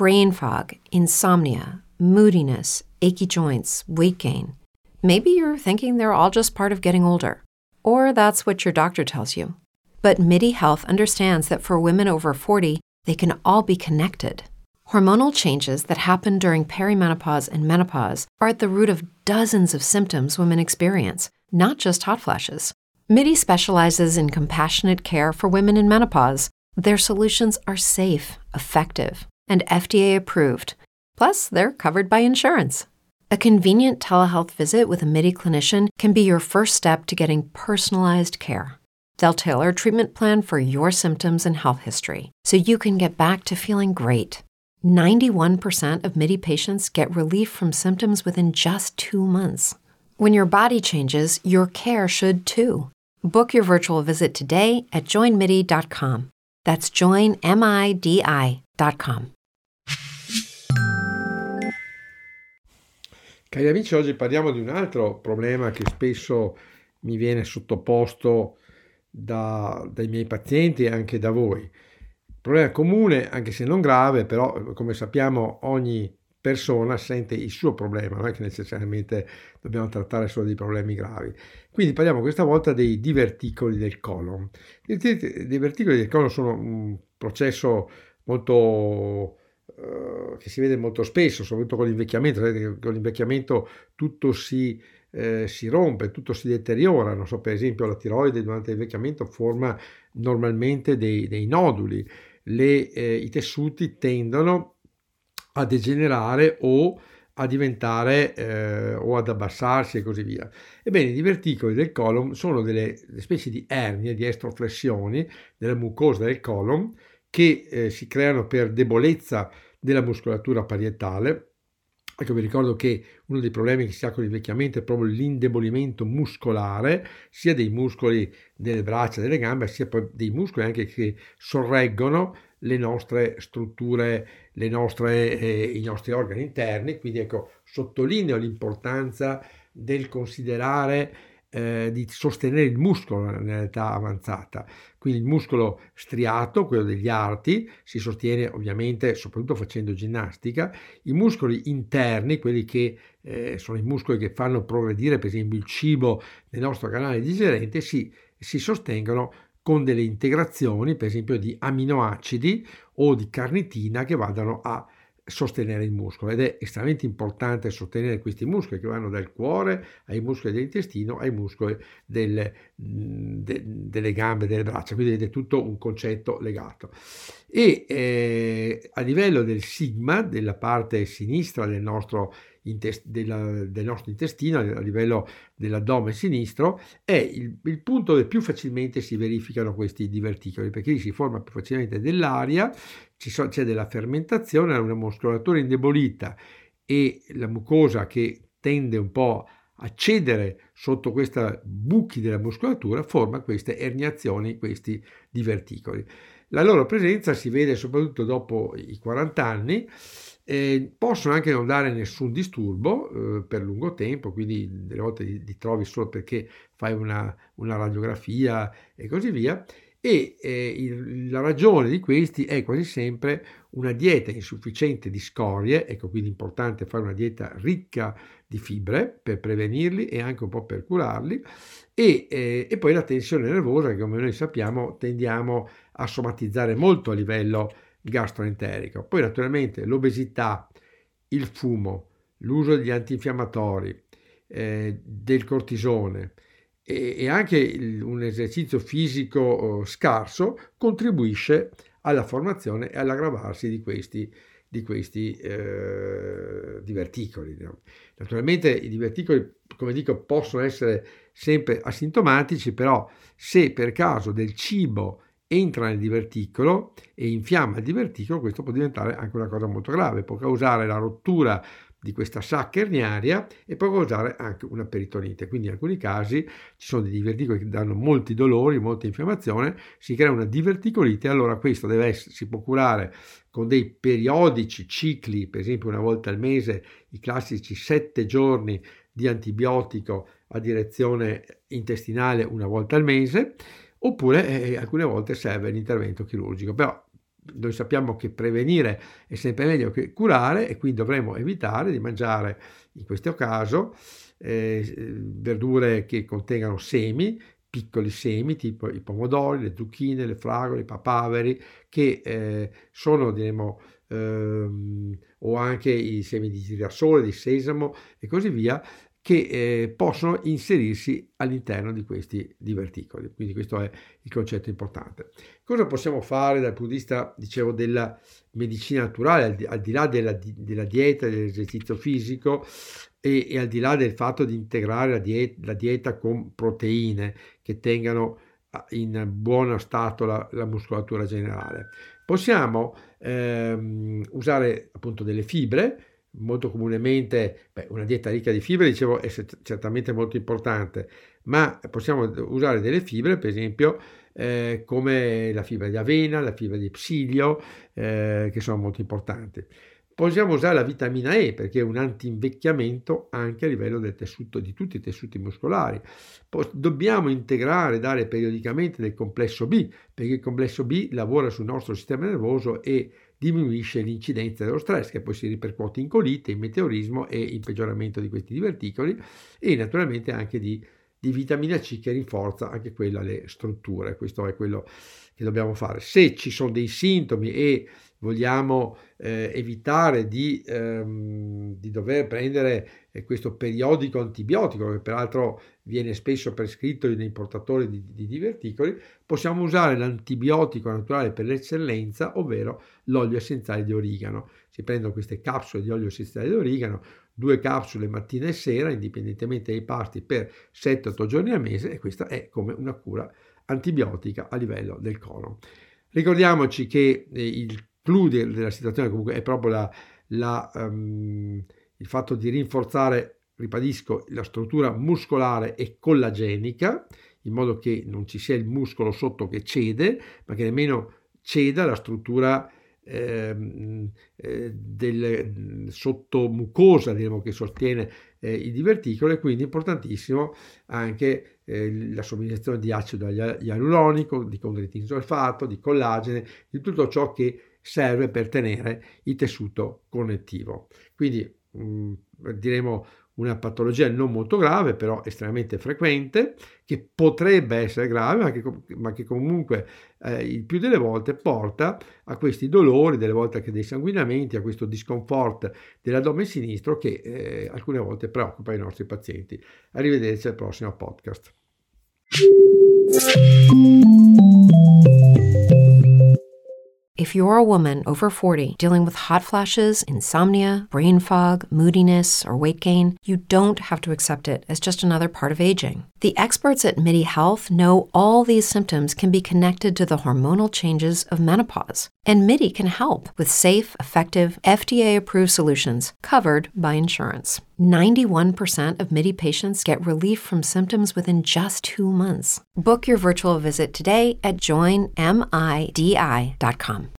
brain fog, insomnia, moodiness, achy joints, weight gain. Maybe you're thinking they're all just part of getting older, or that's what your doctor tells you. But MIDI Health understands that for women over 40, they can all be connected. Hormonal changes that happen during perimenopause and menopause are at the root of dozens of symptoms women experience, not just hot flashes. MIDI specializes in compassionate care for women in menopause. Their solutions are safe, effective, and FDA approved. Plus, they're covered by insurance. A convenient telehealth visit with a MIDI clinician can be your first step to getting personalized care. They'll tailor a treatment plan for your symptoms and health history, so you can get back to feeling great. 91% of MIDI patients get relief from symptoms within just 2 months. When your body changes, your care should too. Book your virtual visit today at joinmidi.com. That's joinmidi.com. Cari amici, oggi parliamo di un altro problema che spesso mi viene sottoposto dai miei pazienti e anche da voi. Problema comune, anche se non grave, però come sappiamo ogni persona sente il suo problema, non è che necessariamente dobbiamo trattare solo dei problemi gravi. Quindi parliamo questa volta dei diverticoli del colon. I diverticoli del colon sono un processo molto che si vede molto spesso, soprattutto con l'invecchiamento. Con l'invecchiamento tutto si rompe, tutto si deteriora. Non so, per esempio la tiroide durante l'invecchiamento forma normalmente dei noduli. I tessuti tendono a degenerare o a diventare o ad abbassarsi e così via. Ebbene, i diverticoli del colon sono delle specie di ernie, di estroflessioni della mucosa del colon che si creano per debolezza della muscolatura parietale. Ecco, vi ricordo che uno dei problemi che si ha con l'invecchiamento è proprio l'indebolimento muscolare, sia dei muscoli delle braccia, delle gambe, sia poi dei muscoli anche che sorreggono le nostre strutture, i nostri organi interni. Quindi ecco, sottolineo l'importanza del considerare di sostenere il muscolo nell'età avanzata. Quindi il muscolo striato, quello degli arti, si sostiene ovviamente soprattutto facendo ginnastica. I muscoli interni, quelli che sono i muscoli che fanno progredire per esempio il cibo nel nostro canale digerente, si sostengono con delle integrazioni, per esempio di aminoacidi o di carnitina, che vadano a sostenere il muscolo. Ed è estremamente importante sostenere questi muscoli che vanno dal cuore ai muscoli dell'intestino ai muscoli delle gambe, delle braccia, quindi è tutto un concetto legato. E a livello del sigma, della parte sinistra del nostro intestino, a livello dell'addome sinistro, è il punto dove più facilmente si verificano questi diverticoli, perché lì si forma più facilmente dell'aria, c'è della fermentazione, una muscolatura indebolita e la mucosa che tende un po' a cedere sotto questi buchi della muscolatura forma queste erniazioni, questi diverticoli. La loro presenza si vede soprattutto dopo i 40 anni. Possono anche non dare nessun disturbo per lungo tempo, quindi delle volte li trovi solo perché fai una radiografia e così via. E la ragione di questi è quasi sempre una dieta insufficiente di scorie. Ecco, quindi è importante fare una dieta ricca di fibre per prevenirli e anche un po' per curarli, e poi la tensione nervosa, che come noi sappiamo tendiamo a somatizzare molto a livello gastroenterico. Poi naturalmente l'obesità, il fumo, l'uso degli antinfiammatori, del cortisone e anche un esercizio fisico scarso contribuisce alla formazione e all'aggravarsi di questi diverticoli. Naturalmente i diverticoli, come dico, possono essere sempre asintomatici, però se per caso del cibo entra nel diverticolo e infiamma il diverticolo, questo può diventare anche una cosa molto grave, può causare la rottura di questa sacca erniaria e può causare anche una peritonite. Quindi in alcuni casi ci sono dei diverticoli che danno molti dolori, molta infiammazione, si crea una diverticolite. Allora questo si può curare con dei periodici cicli, per esempio una volta al mese, i classici 7 giorni di antibiotico a direzione intestinale una volta al mese, oppure alcune volte serve l'intervento chirurgico. Però noi sappiamo che prevenire è sempre meglio che curare e quindi dovremmo evitare di mangiare in questo caso verdure che contengano semi, piccoli semi tipo i pomodori, le zucchine, le fragole, i papaveri, che sono, diremo, o anche i semi di girasole, di sesamo e così via, che possono inserirsi all'interno di questi diverticoli. Quindi questo è il concetto importante. Cosa possiamo fare dal punto di vista, dicevo, della medicina naturale, al di là della dieta, dell'esercizio fisico e al di là del fatto di integrare la dieta con proteine che tengano in buono stato la muscolatura generale? Possiamo usare appunto delle fibre. Molto comunemente una dieta ricca di fibre, dicevo, è certamente molto importante, ma possiamo usare delle fibre, per esempio, come la fibra di avena, la fibra di psilio, che sono molto importanti. Possiamo usare la vitamina E perché è un anti-invecchiamento anche a livello del tessuto, di tutti i tessuti muscolari. Dobbiamo integrare, dare periodicamente del complesso B, perché il complesso B lavora sul nostro sistema nervoso e diminuisce l'incidenza dello stress, che poi si ripercuote in colite, in meteorismo e in peggioramento di questi diverticoli, e naturalmente anche di vitamina C, che rinforza anche quella le strutture. Questo è quello che dobbiamo fare. Se ci sono dei sintomi e vogliamo evitare di dover prendere questo periodico antibiotico, che peraltro viene spesso prescritto nei portatori di diverticoli, possiamo usare l'antibiotico naturale per l'eccellenza, ovvero l'olio essenziale di origano. Si prendono queste capsule di olio essenziale di origano, 2 capsule mattina e sera, indipendentemente dai pasti, per 7-8 giorni al mese, e questa è come una cura antibiotica a livello del colon. Ricordiamoci che il clou della situazione comunque è proprio il fatto di rinforzare, ribadisco, la struttura muscolare e collagenica, in modo che non ci sia il muscolo sotto che cede, ma che nemmeno ceda la struttura del sottomucosa, diremo, che sostiene i diverticoli. Quindi è importantissimo anche la somministrazione di acido ialuronico, di condroitin solfato, di collagene, di tutto ciò che serve per tenere il tessuto connettivo. Quindi diremo una patologia non molto grave, però estremamente frequente, che potrebbe essere grave, ma che comunque il più delle volte porta a questi dolori, delle volte anche dei sanguinamenti, a questo discomfort dell'addome sinistro che alcune volte preoccupa i nostri pazienti. Arrivederci al prossimo podcast. If you're a woman over 40 dealing with hot flashes, insomnia, brain fog, moodiness, or weight gain, you don't have to accept it as just another part of aging. The experts at MIDI Health know all these symptoms can be connected to the hormonal changes of menopause. And MIDI can help with safe, effective, FDA-approved solutions covered by insurance. 91% of MIDI patients get relief from symptoms within just 2 months. Book your virtual visit today at joinmidi.com.